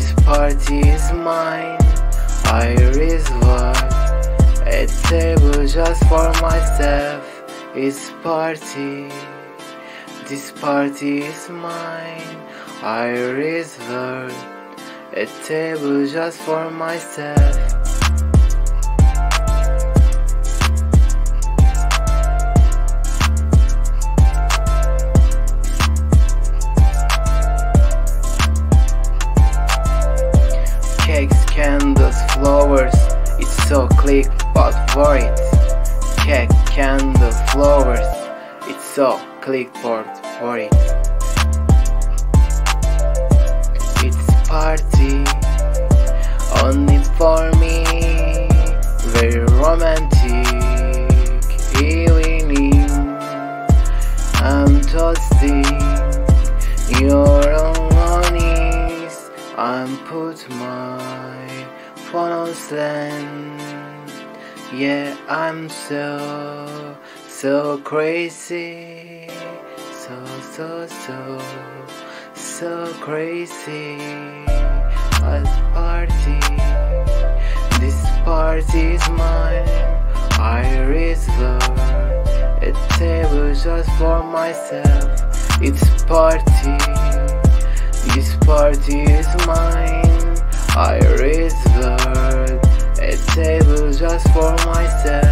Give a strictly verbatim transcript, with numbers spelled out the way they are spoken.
This party is mine. I reserve a table just for myself. It's party. This party is mine. I reserve a table just for myself. Cakes, candles, flowers, it's so click but worried. Cake, candle, flowers, it's so click but worried. It's party only for me, very romantic evening. I'm toasting your own honest. I'm put my phone on silent. Yeah, I'm so, so crazy. So, so, so, so crazy. At party, this party is mine. I reserve a table just for myself. It's party. This party is mine. I reserve a table just for myself.